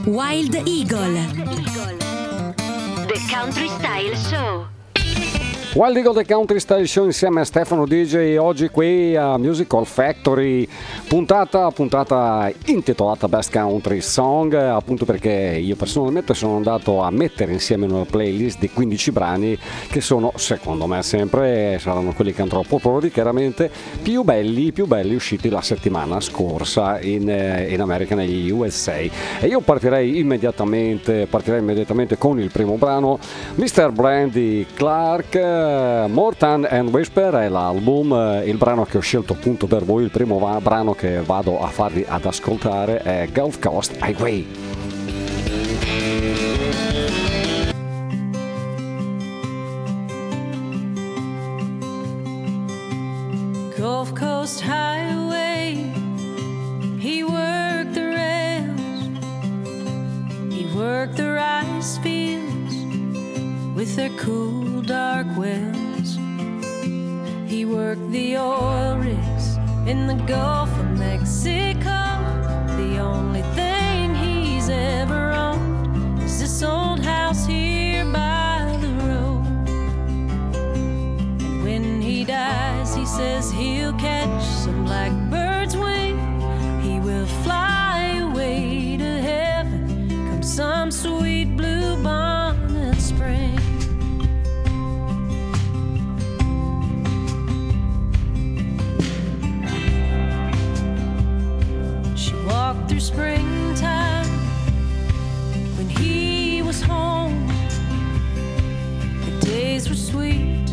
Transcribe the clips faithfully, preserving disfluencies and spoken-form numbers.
Wild Eagle, The Country Style Show. Wild Eagle The Country Style Show insieme a Stefano D J, oggi qui a Musical Factory, puntata, puntata intitolata Best Country Song, appunto perché io personalmente sono andato a mettere insieme una playlist di quindici brani che sono, secondo me sempre, saranno quelli che andrò a proporre chiaramente, più belli, più belli usciti la settimana scorsa in, in America, negli U S A. E io partirei immediatamente, partirei immediatamente con il primo brano, mister Brandy Clark, Morton and Whisper è l'album, il brano che ho scelto appunto per voi, il primo va- brano che vado a farvi ad ascoltare è Gulf Coast Highway. Gulf Coast Highway, he worked the rails, he worked the rice fields with their cool dark wells. He worked the oil rigs in the Gulf of Mexico. The only thing he's ever owned is this old house here by the road. And when he dies, he says he'll catch some blackbird's wing. He will fly away to heaven come some sweet blue bonnet spring. Walked through springtime when he was home. The days were sweet,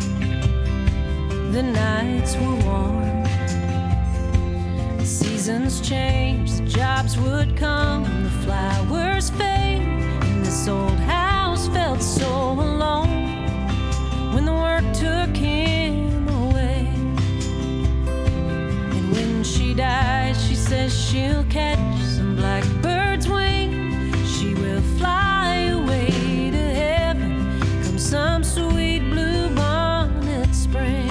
the nights were warm. The seasons changed, the jobs would come, the flowers fade, and this old house felt so alone when the work took him away. And when she died, she says she'll catch some blackbird's wing. She will fly away to heaven come some sweet blue bonnet spring.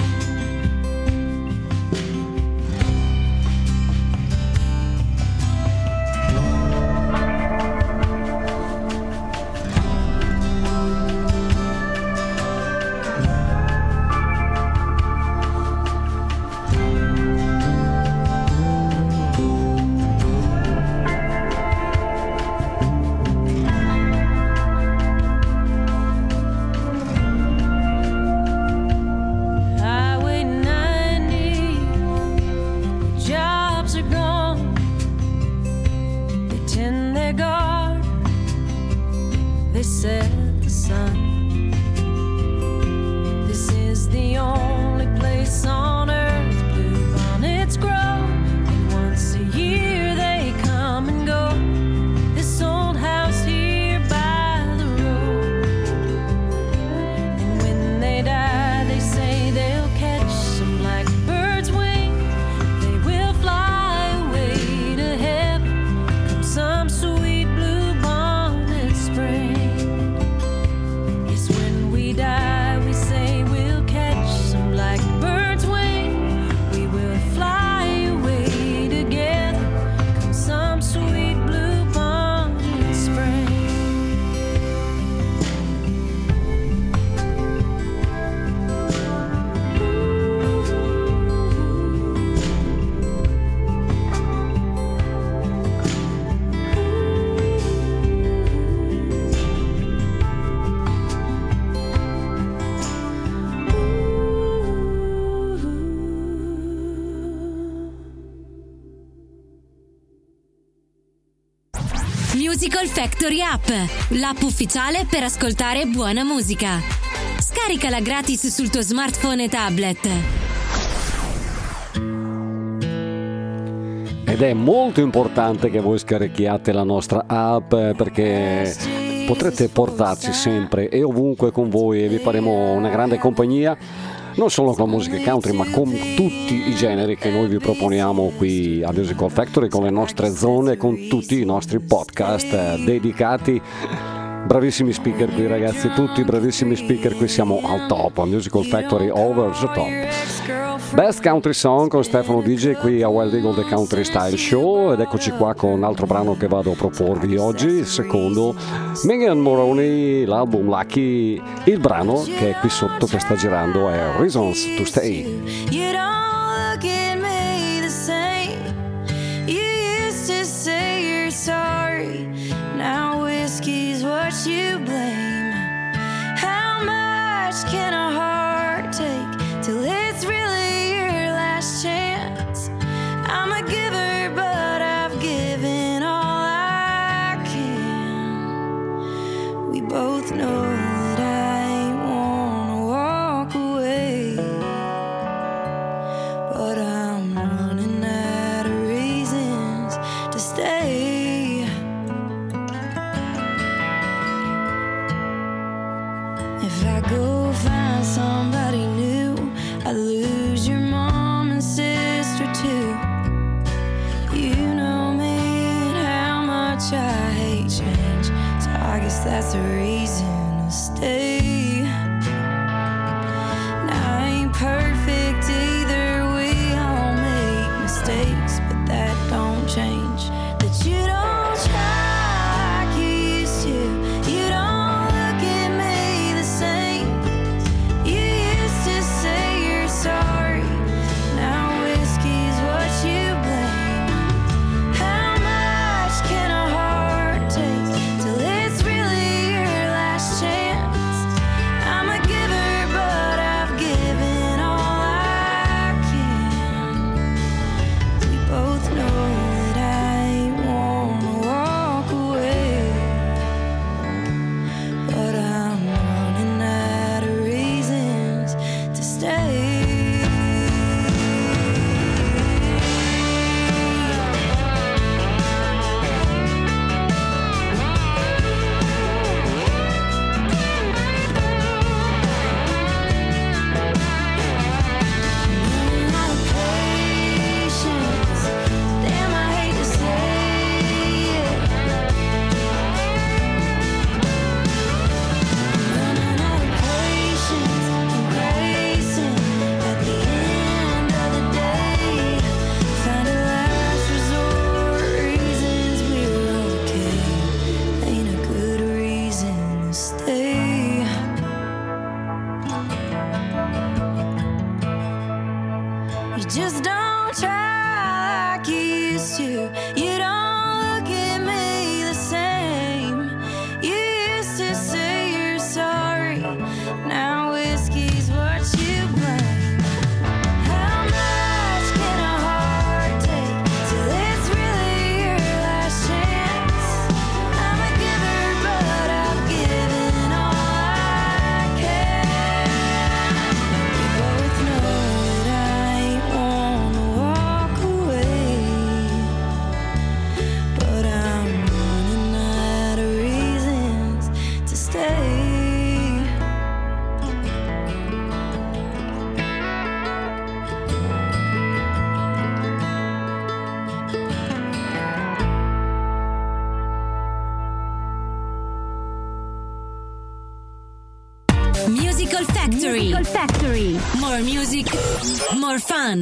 Musical Factory App, l'app ufficiale per ascoltare buona musica. Scaricala gratis sul tuo smartphone e tablet. Ed è molto importante che voi scarichiate la nostra app, perché potrete portarci sempre e ovunque con voi e vi faremo una grande compagnia, non solo con la musica country ma con tutti i generi che noi vi proponiamo qui a Musical Factory, con le nostre zone, con tutti i nostri podcast dedicati. Bravissimi speaker qui, ragazzi, tutti bravissimi speaker qui, siamo al top, a Musical Factory over the top. Best Country Song con Stefano D J qui a Wild Eagle The Country Style Show, ed eccoci qua con un altro brano che vado a proporvi oggi, il secondo, Megan Moroney, l'album Lucky. Il brano che è qui sotto che sta girando è Reasons to Stay. You don't look at me the same. You used to say you're sorry. Now whiskey's what you blame. How much can a heart take till it's really your last chance? I'm a giver, but I've given all I can. We both know that I ain't wanna walk away, but I'm running out of reasons to stay. If I go find somebody new, I lose your mom and sister too. You know me and how much I hate change, so I guess that's a reason to stay. Now I ain't perfect either, we all make mistakes, but that don't change that you don't try like you used to. You don't look at me the same. You used to say you're sorry. Now whiskey's what you blame. How much can a heart take till it's really your last chance? I'm a giver, but I've given all I can. We both know that I ain't wanna walk away, but I'm running out of reasons to stay. Running out of patience. Damn, I hate to say it. Running out of patience and racing at the end of the day. Find a last resort, reasons we're okay. Ain't a good reason to stay. You just don't try like you used to. You don't look at me the same. You used to say you're sorry. Now whiskey's what you blame. How much can a heart take till it's really your last chance? I'm a giver, but I've given all I can. We both know that I ain't wanna walk away, but I'm running out of reasons to stay. Musical Factory. Musical Factory. More music, more fun.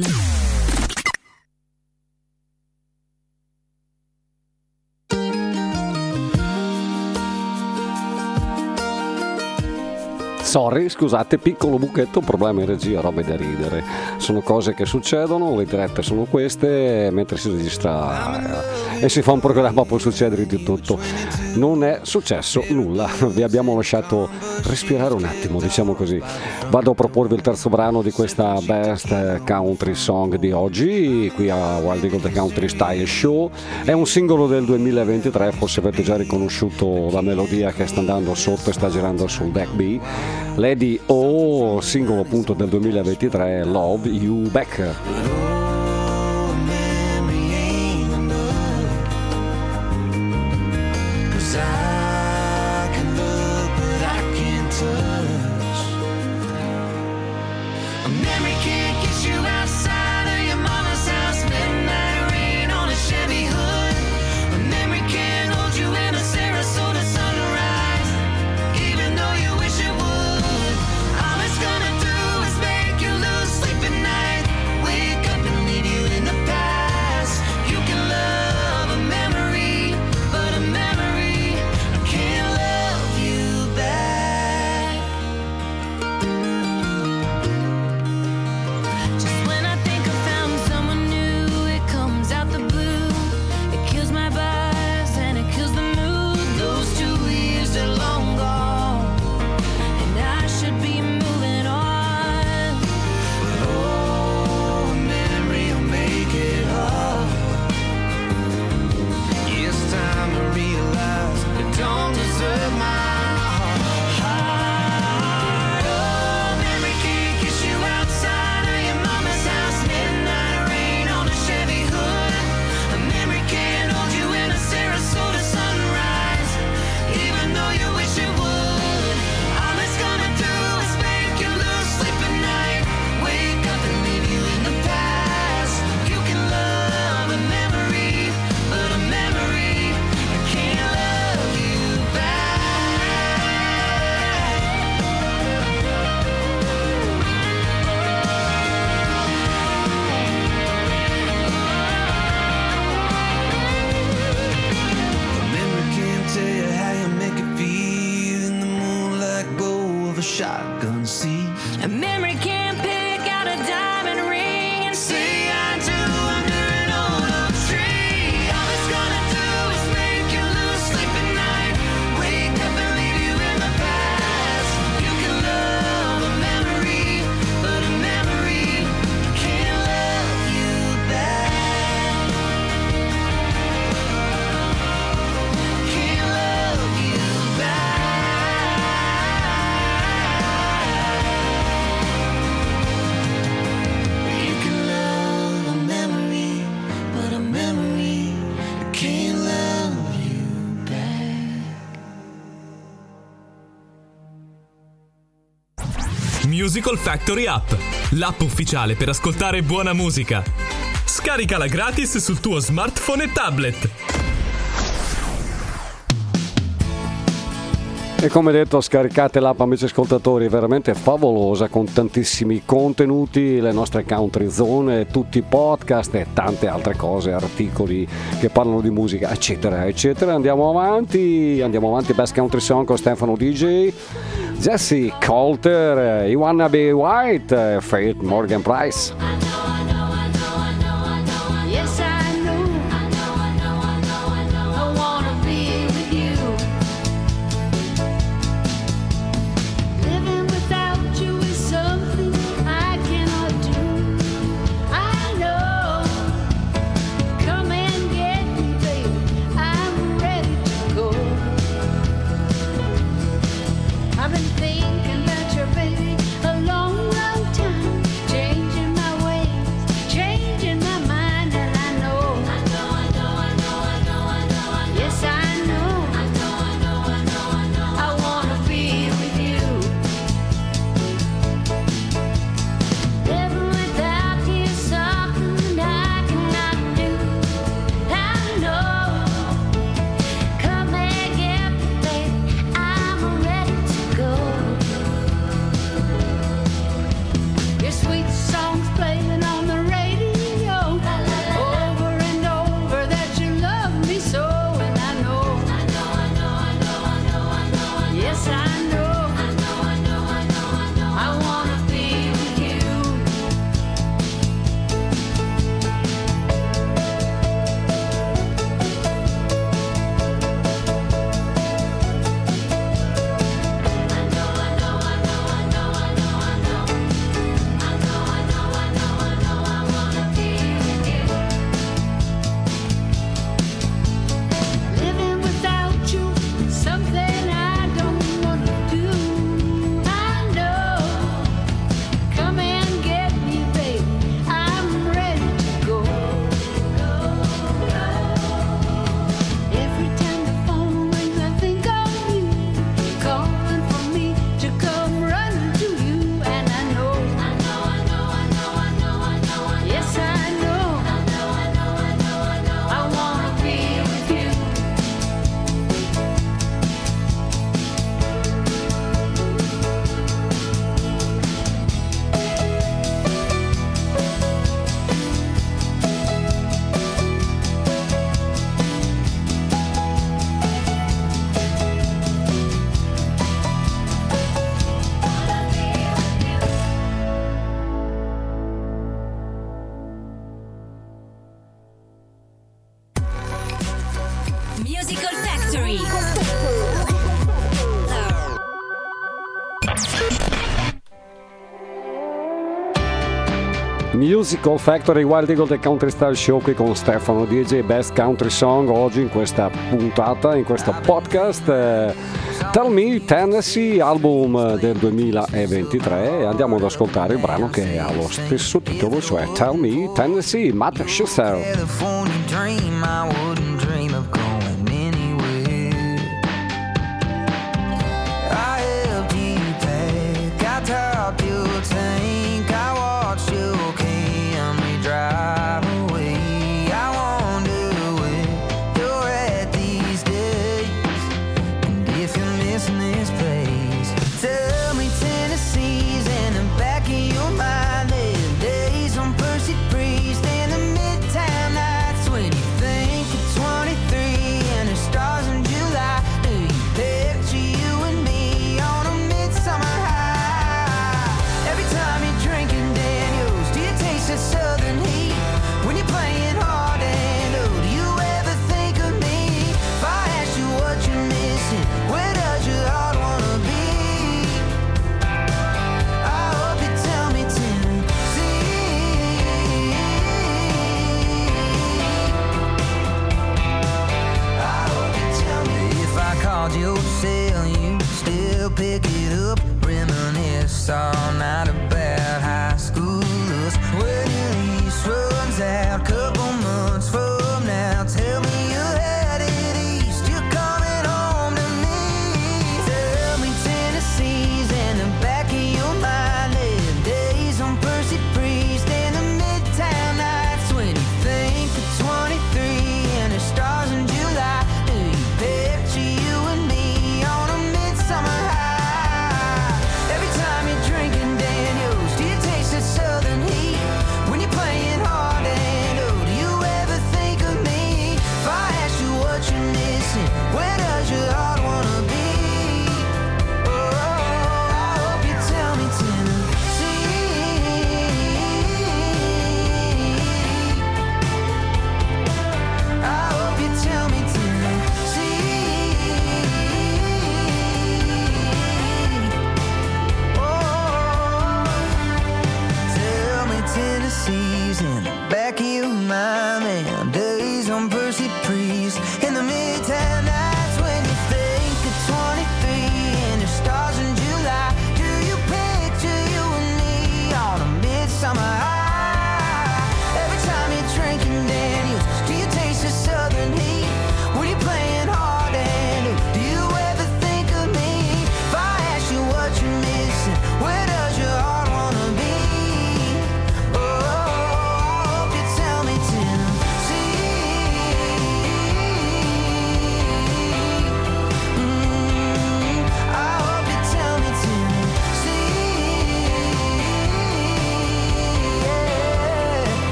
Sorry, scusate, piccolo buchetto, problema in regia, robe da ridere. Sono cose che succedono, le dirette sono queste, mentre si registra eh, e si fa un programma può succedere di tutto. Non è successo nulla, vi abbiamo lasciato respirare un attimo, diciamo così. Vado a proporvi il terzo brano di questa Best Country Song di oggi, qui a Wild Eagle The Country Style Show. È un singolo del duemilaventitré, forse avete già riconosciuto la melodia che sta andando sotto e sta girando sul deck B. Lady O, singolo appunto del duemilaventitré, Love You Back. All it's gonna do is make you lose sleep at night. shotgun seat. A memory can't pick out a diamond ring and say I do under an old tree. All it's gonna do is make you lose sleep at night. Wake up and leave you in the past. You can love a memory, but a memory can't love you back. Can't love you back. You can love a memory, but a memory can't love you back. Musical Factory App, l'app ufficiale per ascoltare buona musica. Scaricala gratis sul tuo smartphone e tablet. E come detto, scaricate l'app, amici ascoltatori, è veramente favolosa, con tantissimi contenuti, le nostre country zone, tutti i podcast e tante altre cose, articoli che parlano di musica, eccetera eccetera. Andiamo avanti, andiamo avanti. Best Country Song con Stefano D J, Jesse Coulter, You Wanna Be White, Faith Morgan Price. Yes, I know. I wanna be with you. Living without you is something I cannot do. I know. Come and get me, baby. I'm ready to go. I've been thinking about your baby a long, long time. Changing my ways, changing my mind, and I know. I know, I know, I know, I know, I know, I know. Yes, I know. I know, I know, I know, I know. I wanna be with you. Living without you is something I cannot do. I know. Come and get me, baby. I'm ready to go. Your sweet songs playing on the radio, over and over that you love me so, and I know. I know, I know, I know, I know, I know, I know. Yes, I know. I know, I know, I know, I know. I wanna be with you. I know, I know, I know, I know, I know, I know. I know, I know, I know, I know, I wanna be with you. Living without you is something I don't wanna do. I know. Come and get me, baby. I'm ready to go. Every time the phone rings, I think of you, calling for me to come running to you, and I know. I know, I know, I know, I know, I know, I know. Yes, I know. I know, I know, I know, I know. I wanna be with you. Musical Factory. Musical Factory, Wild Eagle del Country Style Show qui con Stefano D J, Best Country Song oggi in questa puntata, in questo podcast. eh, Tell Me Tennessee, album del duemilaventitré, e andiamo ad ascoltare il brano che ha lo stesso titolo, cioè Tell Me Tennessee, Matt Schuster. California dream, I wouldn't dream of going anywhere. I helped you pack, I topped your tank, I watched your Camry drive away. I wonder where you're at these days, and if you're missing this place. Tell me Tennessee's in the back of your mind. There are days on Percy Priest and the Midtown nights when you think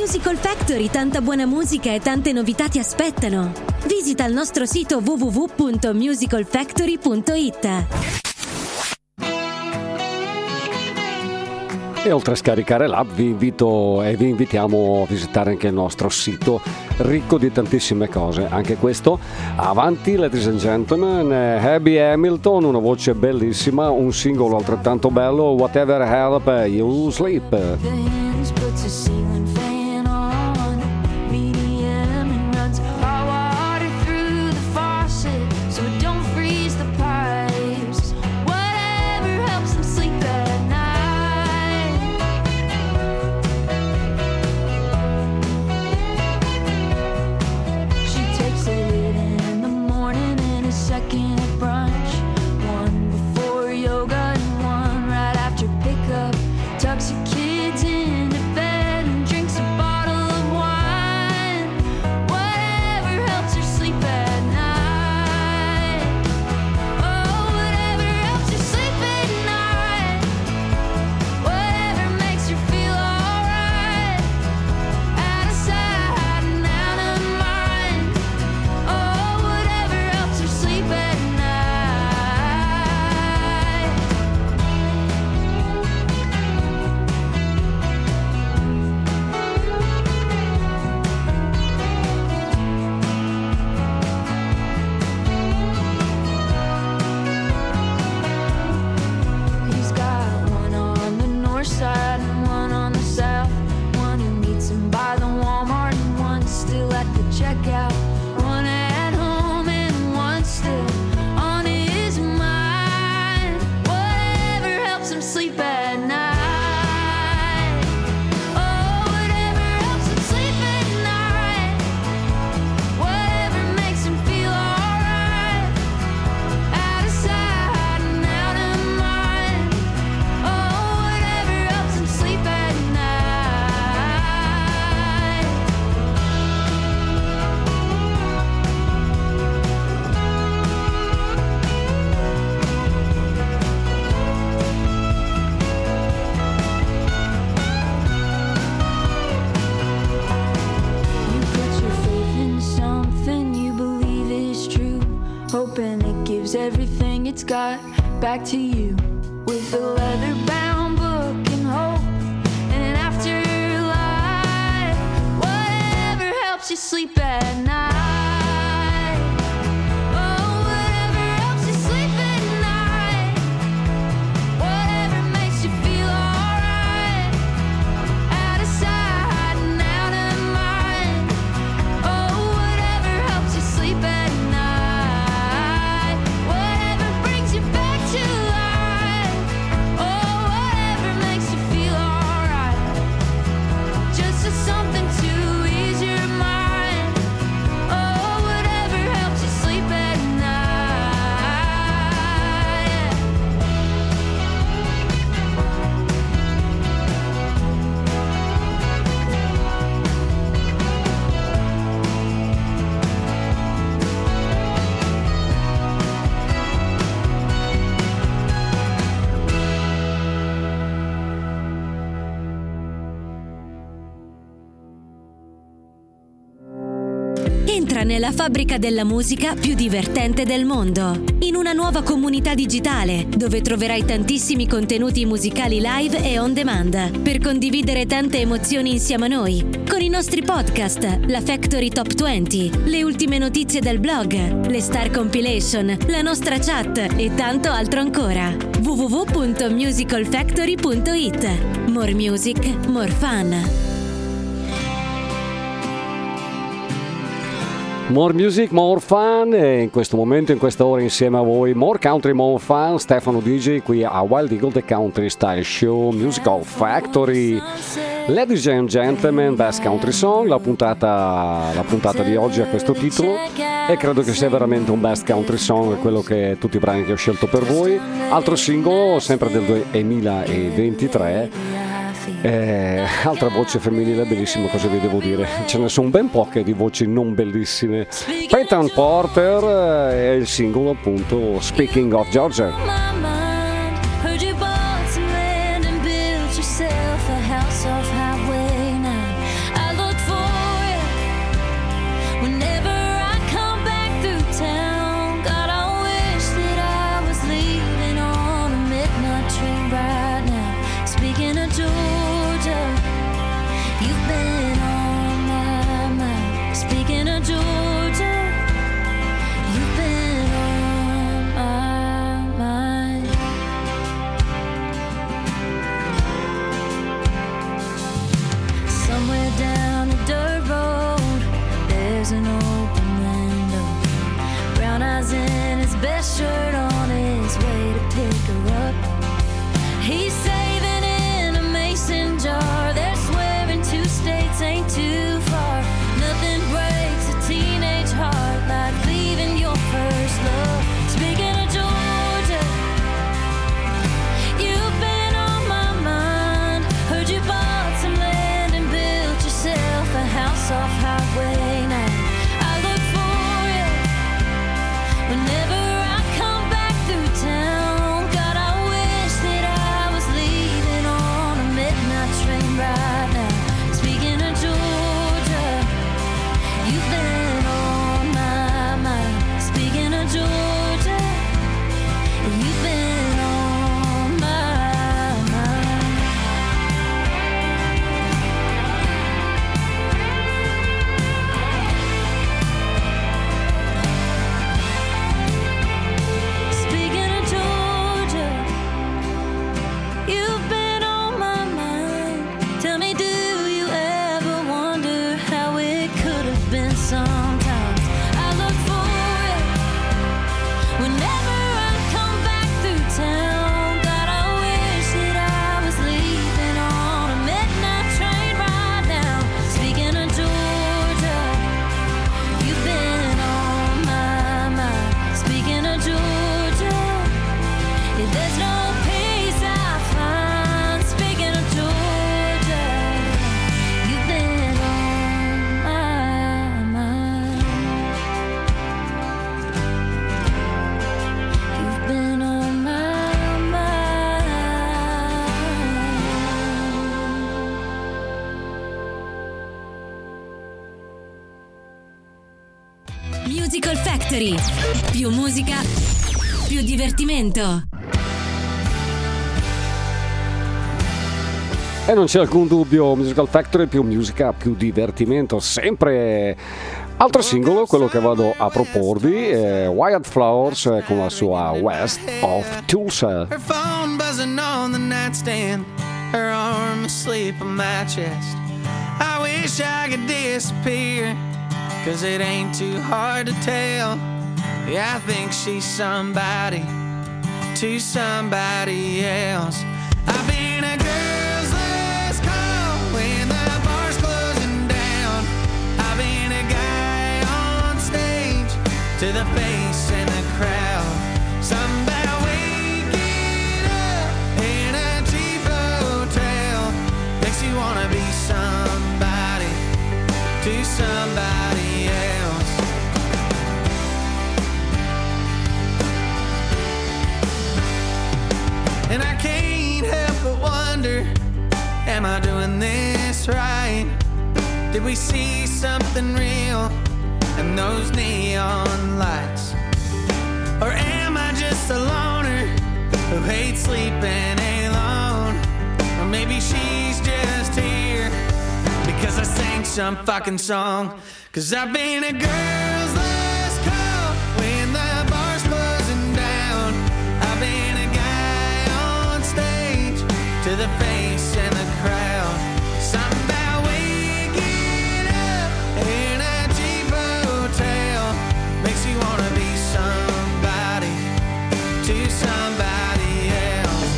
Musical Factory, tanta buona musica e tante novità ti aspettano. Visita il nostro sito w w w punto musical factory punto i t. E oltre a scaricare l'app vi invito e vi invitiamo a visitare anche il nostro sito ricco di tantissime cose. Anche questo avanti, ladies and gentlemen. Abby Hamilton, una voce bellissima, un singolo altrettanto bello, Whatever Help You Sleep. Tucks your kids into bed and drinks a bottle of wine. Whatever helps her sleep at night. Oh, whatever helps her sleep at night. Whatever makes her feel alright. Out of sight and out of mind. Oh, whatever helps her sleep at night. He's got one on the north side and one on the south. One who meets him by the Walmart and one still at the checkout. One at home and one still on his mind. Whatever helps him sleep at night. Oh, whatever helps him sleep at night. Whatever makes him feel alright. Out of sight and out of mind. Oh, whatever helps him sleep at night. You put your faith in something you believe is true, hoping it gives everything it's got back to you. With a leather-bound book and hope and an afterlife. Whatever helps you sleep at night. Oh, whatever helps you sleep at night. Whatever makes you feel alright. Out of sight and out of mind. Oh, whatever helps you sleep at night. Whatever brings you back to life. Oh, whatever makes you feel alright. Just as something to ease your mind. Oh, whatever helps you sleep at night. Entra nella fabbrica della musica più divertente del mondo, in una nuova comunità digitale dove troverai tantissimi contenuti musicali live e on demand per condividere tante emozioni insieme a noi, con i nostri podcast, la Factory Top venti, le ultime notizie del blog, le Star Compilation, la nostra chat e tanto altro ancora. w w w punto musical factory punto i t. More music, more fun. More music, more fun, e in questo momento, in questa ora insieme a voi, more country, more fun, Stefano D J qui a Wild Eagle The Country Style Show Musical Factory. Ladies and gentlemen, Best Country Song, la puntata, la puntata di oggi ha questo titolo e credo che sia veramente un Best Country Song, quello che tutti i brani che ho scelto per voi. Altro singolo, sempre del duemilaventitré. Eh, altra voce femminile bellissima, cosa vi devo dire? Ce ne sono ben poche di voci non bellissime. Peyton Porter e il singolo appunto Speaking of Georgia. I Musical Factory. Più musica, più divertimento. E non c'è alcun dubbio, Musical Factory, più musica, più divertimento, sempre. Altro singolo, quello che vado a proporvi, è Wyatt Flowers con la sua West of Tulsa. Her phone buzzing on the nightstand, her arm asleep on my chest. I wish I could disappear, cause it ain't too hard to tell. Yeah, I think she's somebody to somebody else. I've been a girl's last call when the bar's closing down. I've been a guy on stage to the face in the crowd. Somehow waking up in a cheap hotel makes you wanna be somebody to somebody else. And I can't help but wonder, am I doing this right? Did we see something real in those neon lights? Or am I just a loner who hates sleeping alone? Or maybe she's just here because I sang some fucking song. Cause I've been a girl's last call when the bar's closing down. I've been a guy on stage to the face in the crowd. Somehow waking up in a cheap hotel makes you wanna be somebody to somebody else.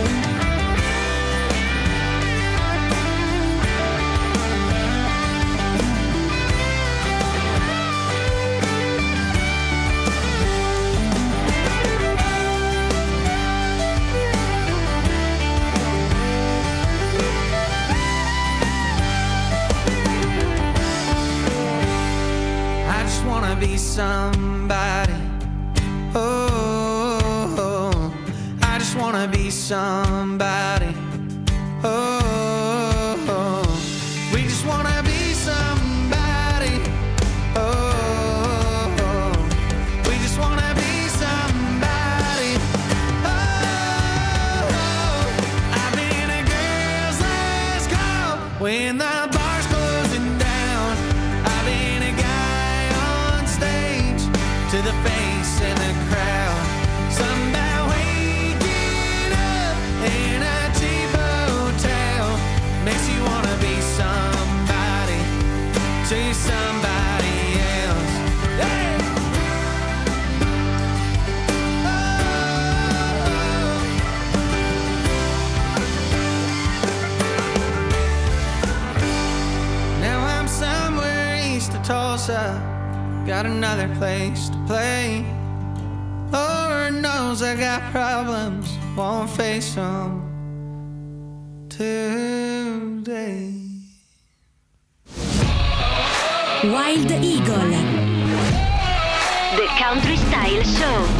I just wanna be somebody. Oh, oh, I just wanna be somebody. Oh, oh, we just wanna be somebody. Oh, oh, we just wanna be somebody. Oh, oh, I've been a girl's last call when the bar's closing down. I've been a guy on stage to the face in the crowd. Somehow waking up in a cheap hotel makes you wanna be somebody to somebody else. Hey! Oh. Now I'm somewhere east of Tulsa, got another place to play. Lord knows I got problems, won't face them today. Wild Eagle. The Country Style Show.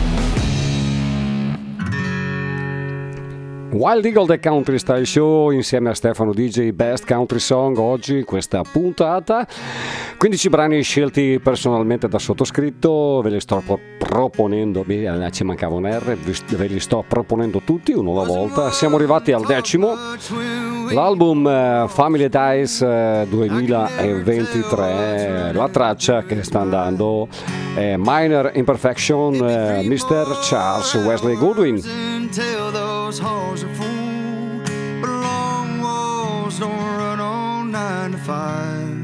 Wild Eagle The Country Style Show insieme a Stefano D J, Best Country Song oggi, questa puntata. quindici brani scelti personalmente da sottoscritto, ve li sto pro- proponendo, beh, ci mancava un R, ve li sto proponendo tutti uno alla volta. Siamo arrivati al decimo, l'album uh, Family Ties uh, duemilaventitré, la traccia che sta andando è Minor Imperfection, uh, mister Charles Wesley Goodwin. Tell those halls are full, but long walls don't run on nine to five.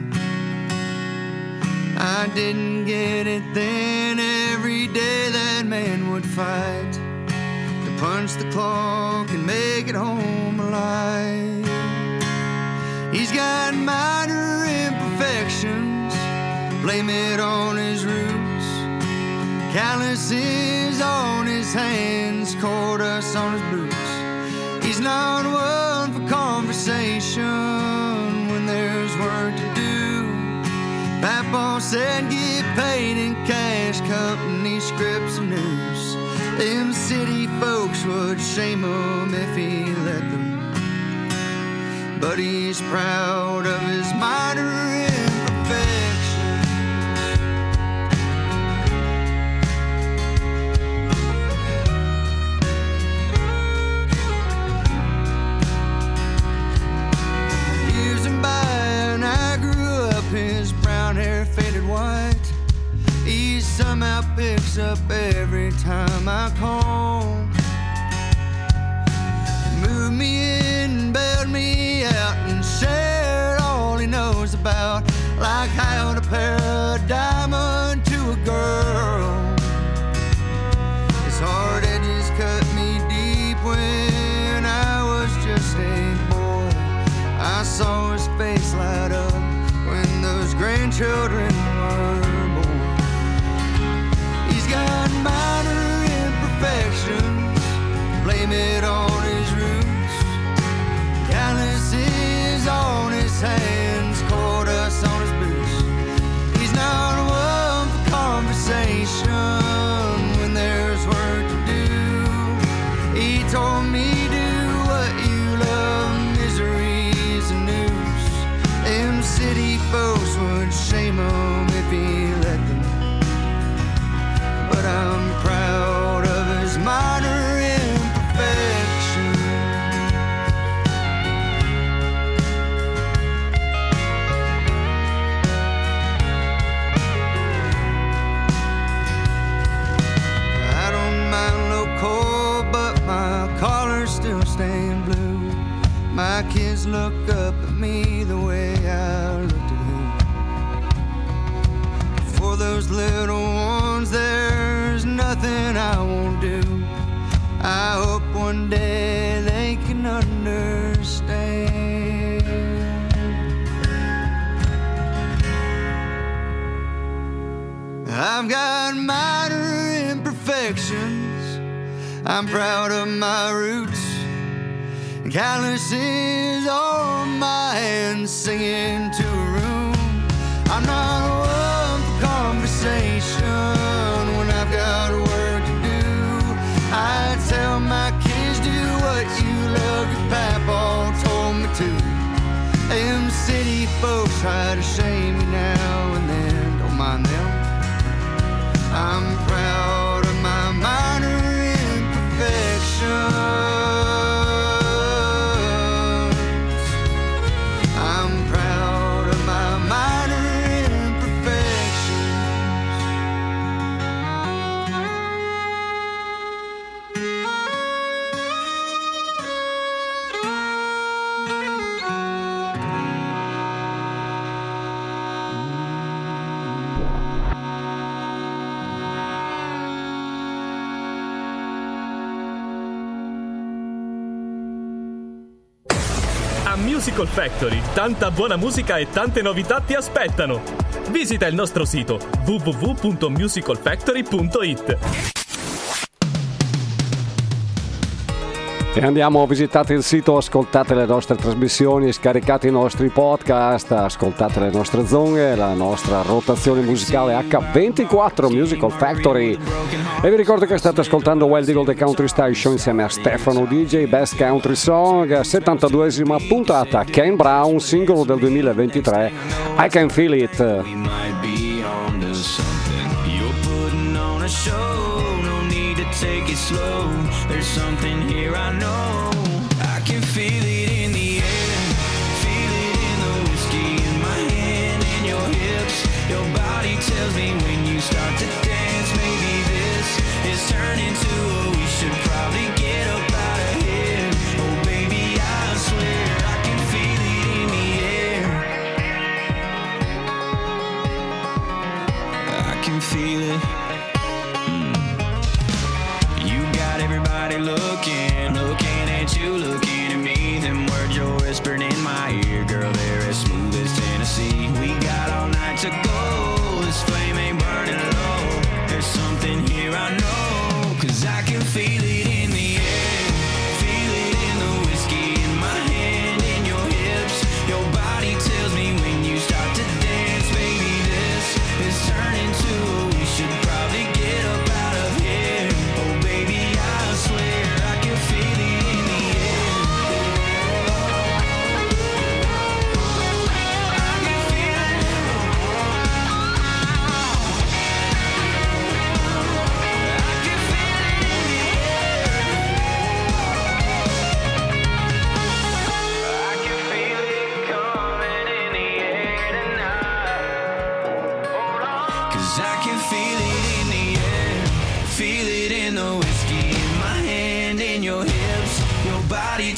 I didn't get it then. Every day that man would fight to punch the clock and make it home alive. He's got minor imperfections, blame it on his roots. Calluses on his hands, cordus on his boots. He's not one for conversation when there's work to do. Papa said get paid in cash, company scripts and news. Them city folks would shame him if he let them. But he's proud of his minor imperfections. somehow picks up every time I call. Moved me in, bailed me out, and shared all he knows about, like how to pair a diamond to a girl. His hard edges cut me deep when I was just a boy. I saw his face light up when those grandchildren were born. He's got minor imperfections, blame it on his roots. Calluses on his hands, caught us on his boots. He's not one for conversation when there's work to do. He told me, do what you love, misery's a noose. Them city folks would shame him if he let them. But I'm proud of his minor imperfection. I don't mind low cold, but my collar's still stained blue. My kids look up at me the way I looked at him. For those little ones, there's nothing I won't do. I hope one day they can understand. I've got minor imperfections, I'm proud of my roots. Calluses on my hands, singing to a room. I'm not one for conversation when I've got work to do. I tell my kids, do what you love, your papa told me to. Them city folks try to shame me now and then, don't mind them. I'm proud of my minor imperfections. Musical Factory, tanta buona musica e tante novità ti aspettano. Visita il nostro sito w w w punto musical factory punto i t. E andiamo, visitate il sito, ascoltate le nostre trasmissioni, scaricate i nostri podcast, ascoltate le nostre zone, la nostra rotazione musicale acca ventiquattro Musical Factory. E vi ricordo che state ascoltando Wild Eagle The Country Style Show insieme a Stefano D J, Best Country Song, settantaduesima puntata, Ken Brown, singolo del duemilaventitré, I Can Feel It. Take it slow, there's something here I know. I can feel it in the air, feel it in the whiskey in my hand and your hips. Your body tells me when you start to dance, maybe this is turning to a we should probably get up out of here. Oh baby, I swear I can feel it in the air. I can feel it. Everybody look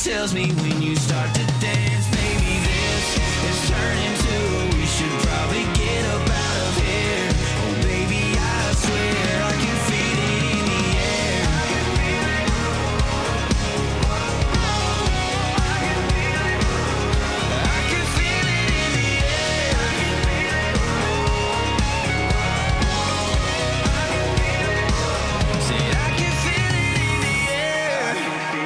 tells me when you start to dance, baby, this is turning to we should probably get up out of here. Oh baby, I swear I can feel it in the air. I can feel it in the air. Say I can feel it in the air.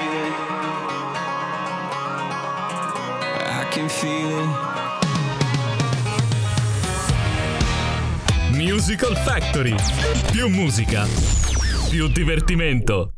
I can feel it. Musical Factory. Più musica, più divertimento.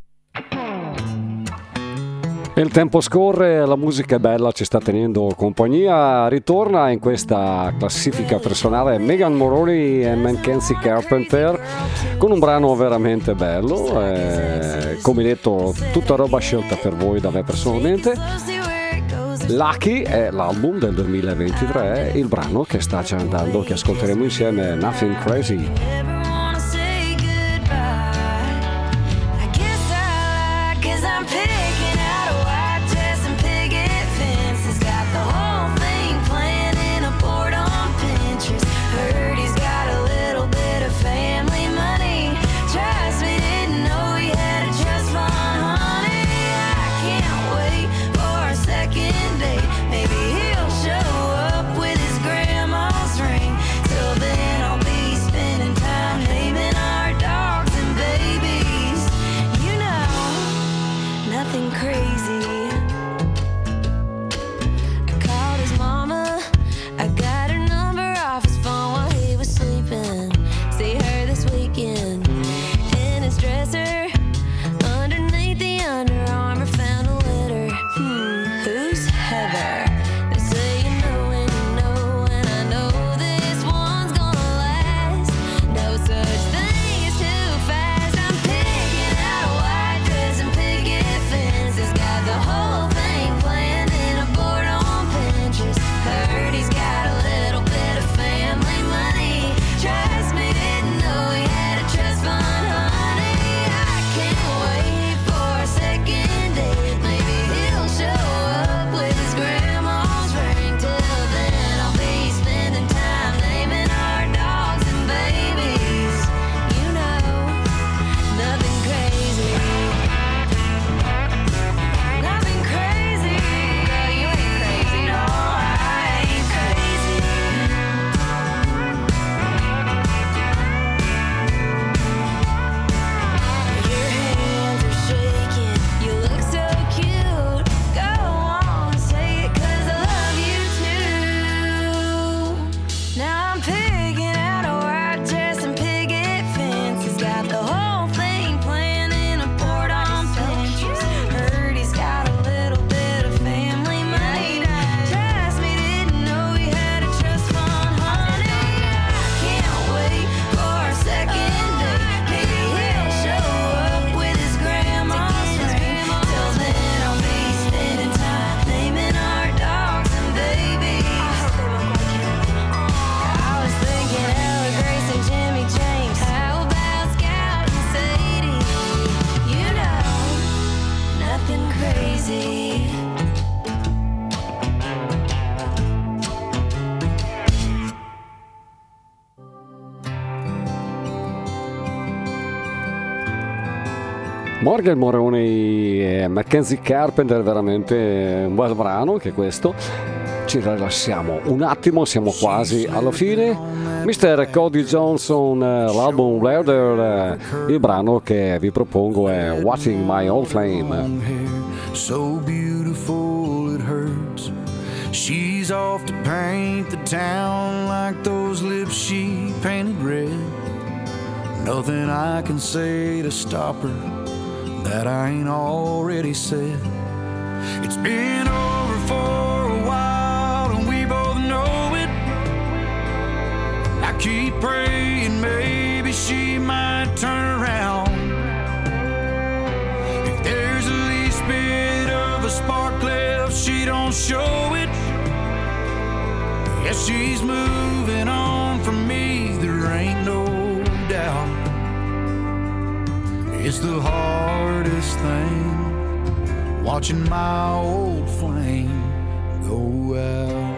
Il tempo scorre, la musica è bella, ci sta tenendo compagnia. Ritorna in questa classifica personale Megan Moroney e Mackenzie Carpenter con un brano veramente bello. Eh, come detto, tutta roba scelta per voi da me personalmente. Lucky è l'album del duemilaventitré, il brano che sta già andando, che ascolteremo insieme, Nothing Crazy. Morgan Moroney e Mackenzie Carpenter, veramente un bel brano anche questo. Ci rilassiamo un attimo, siamo quasi alla fine. mister Cody Johnson, l'album Louder, il brano che vi propongo è Watching My Old Flame. So beautiful it hurts. She's off to paint the town like those lips she painted red. Nothing I can say to stop her that I ain't already said. It's been over for a while and we both know it. I keep praying maybe she might turn around. If there's the least bit of a spark left, she don't show it. Yes, she's moving on from me, there ain't no doubt. It's the hardest thing watching my old flame go out.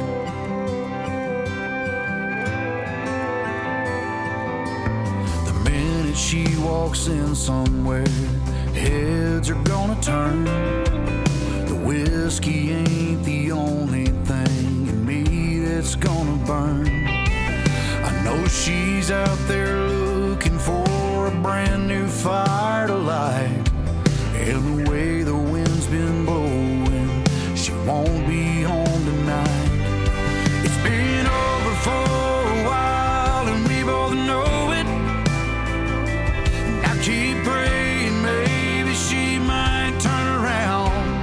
The minute she walks in somewhere, heads are gonna turn. The whiskey ain't the only thing in me that's gonna burn. I know she's out there looking for a brand new fire to light. And the way the wind's been blowing, she won't be home tonight. It's been over for a while and we both know it. And I keep praying maybe she might turn around.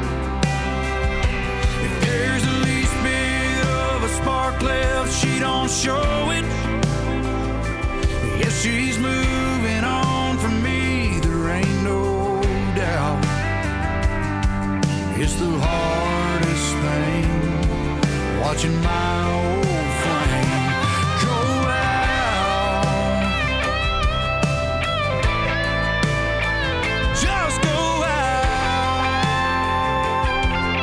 If there's the least bit of a spark left, she don't show it. Yes, she's moving on from me, there ain't no doubt. It's the hardest thing, watching my old flame go out. Just go out.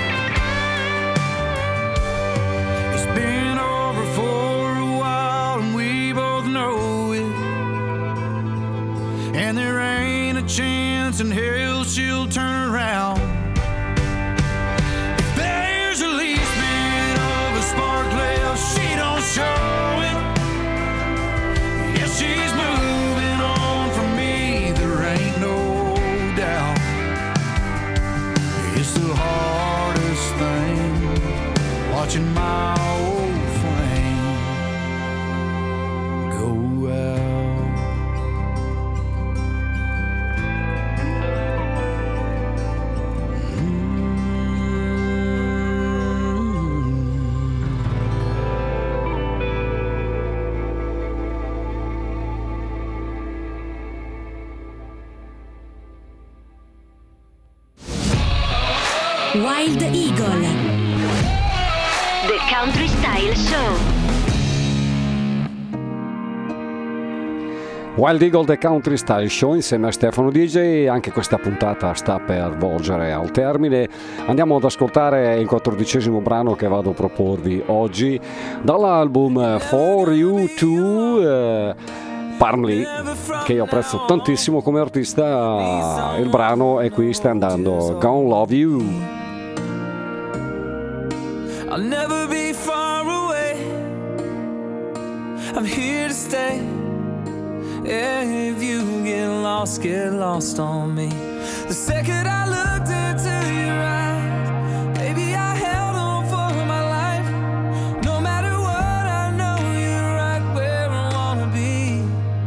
It's been over for a while and we both know it. And there ain't a chance in hell she'll turn around. If there's the least bit of a spark left, she don't show it. Yes, she's moving on from me, there ain't no doubt. It's the hardest thing, watching my old flame go out. Wild Eagle. The Country Style Show. Wild Eagle The Country Style Show insieme a Stefano D J. Anche questa puntata sta per volgere al termine. Andiamo ad ascoltare il quattordicesimo brano che vado a proporvi oggi dall'album For You To eh, Parmley, che io apprezzo tantissimo come artista. Il brano è qui, sta andando Gonna Love You. I'll never be far away, I'm here to stay. Yeah, if you get lost, get lost on me. The second I looked into your eyes, baby, I held on for my life. No matter what, I know you're right where I wanna be.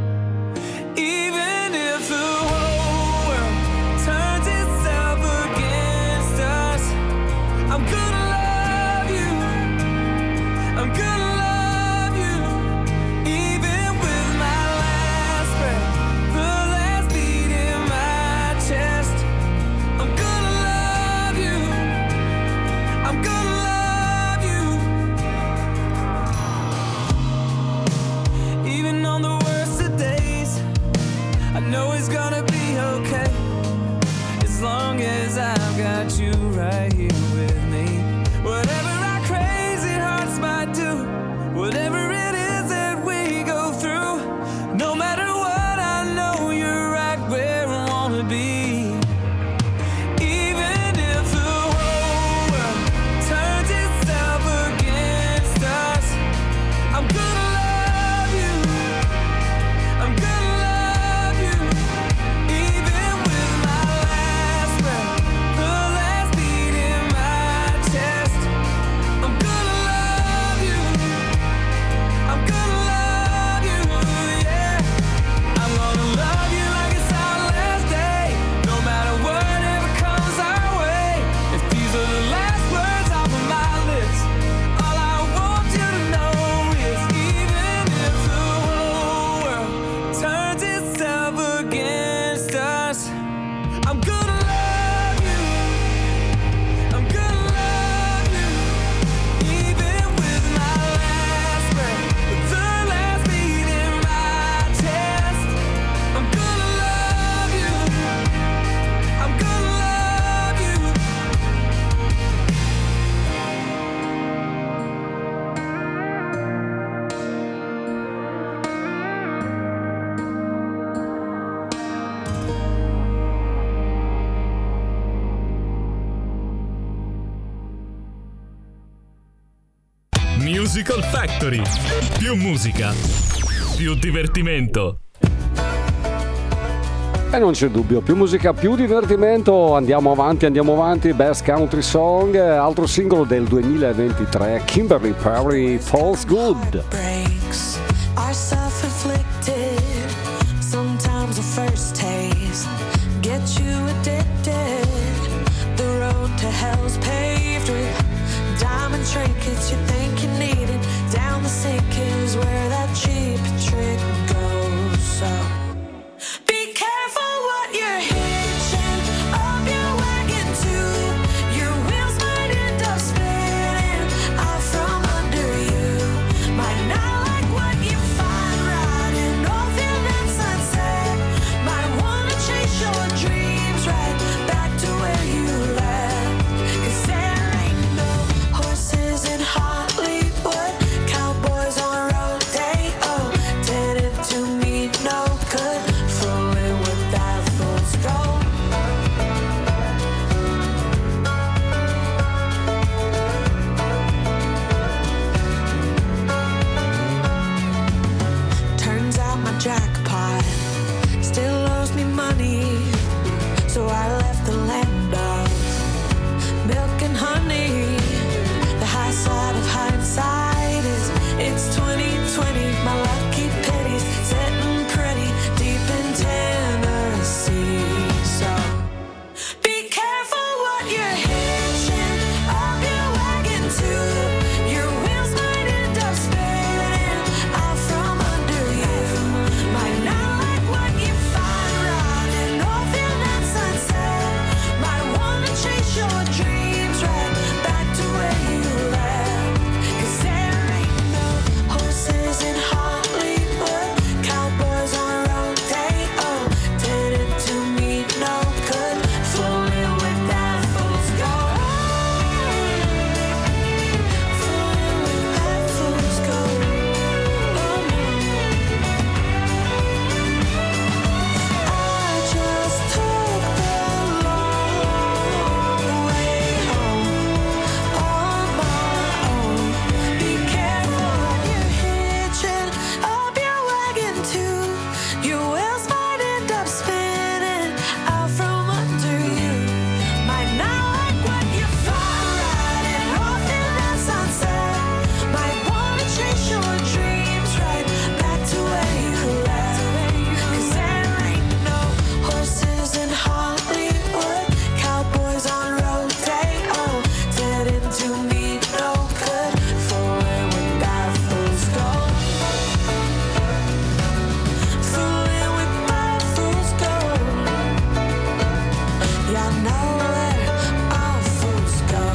Even if the whole world turns itself against us, I'm gonna love you, I'm gonna love you. Even with my last breath, the last beat in my chest, I'm gonna love you, I'm gonna love you. Even on the worst of days, I know it's gonna be okay, as long as I've got you right here with me. Musical Factory. Più musica, più divertimento. E non c'è dubbio, più musica, più divertimento. Andiamo avanti, andiamo avanti. Best Country Song, altro singolo del duemilaventitré, Kimberly Perry, Falls Good. Breaks are self-inflicted. Sometimes the first taste gets you addicted. The road to hell's paved with diamond trinkets. You think you need it. Down the sink is where that cheap trick goes. So be careful what you're hitching up your wagon to. Your wheels might end up spinning out from under you. Might not like what you find riding off in that sunset. Might wanna chase your dreams right back to where you left. 'Cause there ain't no horses in Hollywood, cowboys on rodeo, tended to me no good, fooling with that fool's gold. Turns out my jackpot still owes me money, so I left the land of milk and honey. The high side of hindsight is it's twenty twenty. My lucky pennies sitting pretty deep in Tennessee. So be careful what you're hitching up your wagon to. Your wheels might end up spinning out from under you. Might not like what you find riding off in that sunset. Might wanna chase your dreams right back to where you left. 'Cause there ain't no horses in Hollywood, cowboys on rodeo, tended to me no good, fooling with that fool's gold. Fooling with that fool's gold. Oh no. I just took the long way home on my own. Be careful what you're hitching up your wagon to. Your wheels might end up spinning out from under you. Might not like what you find riding off in that sunset. Might wanna chase your dreams right back to where you left. 'Cause there ain't no horses in Hollywood, cowboys on rodeo, tended to me no good, fooling with that fool's gold. Fooling with that fool's gold. Yeah, I know where all fools go.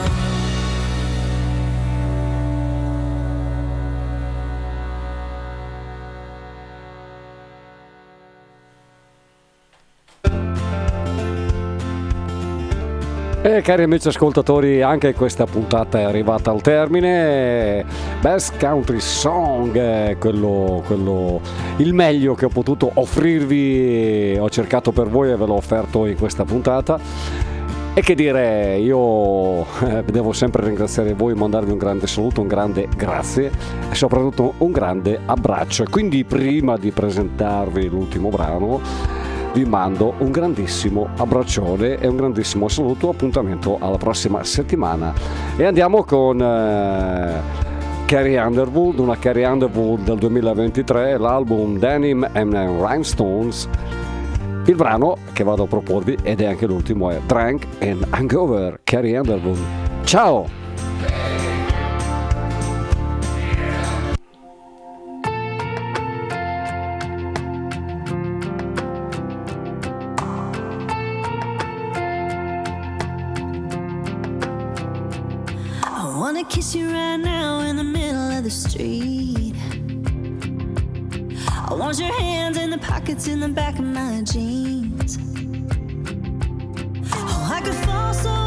E cari amici ascoltatori, anche questa puntata è arrivata al termine. Best Country Song, eh, quello, quello, il meglio che ho potuto offrirvi, ho cercato per voi e ve l'ho offerto in questa puntata. E che dire, io eh, devo sempre ringraziare voi, mandarvi un grande saluto, un grande grazie e soprattutto un grande abbraccio. E quindi prima di presentarvi l'ultimo brano vi mando un grandissimo abbraccione e un grandissimo saluto, appuntamento alla prossima settimana. E andiamo con eh, Carrie Underwood, una Carrie Underwood del duemilaventitré, l'album Denim and Rhinestones. Il brano che vado a proporvi, ed è anche l'ultimo, è Drunk and Hangover, Carrie Underwood. Ciao! I wanna kiss you right now in the middle of the street. I want your hands in the pockets in the back of my jeans. Oh, I could fall so